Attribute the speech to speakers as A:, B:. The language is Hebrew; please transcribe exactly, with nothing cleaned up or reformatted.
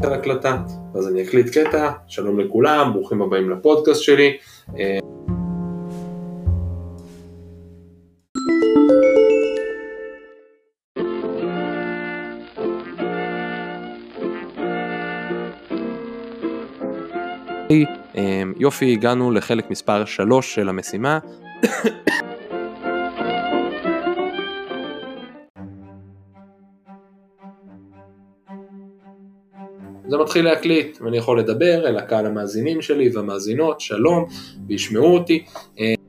A: על הקלטה, אז אני אקליט קטע. שלום לכולם, ברוכים הבאים לפודקאסט שלי. יופי, הגענו לחלק מספר שלוש של המשימה. זה מתחיל להקליט, ואני יכול לדבר אל הקהל המאזינים שלי והמאזינות, שלום, וישמעו אותי.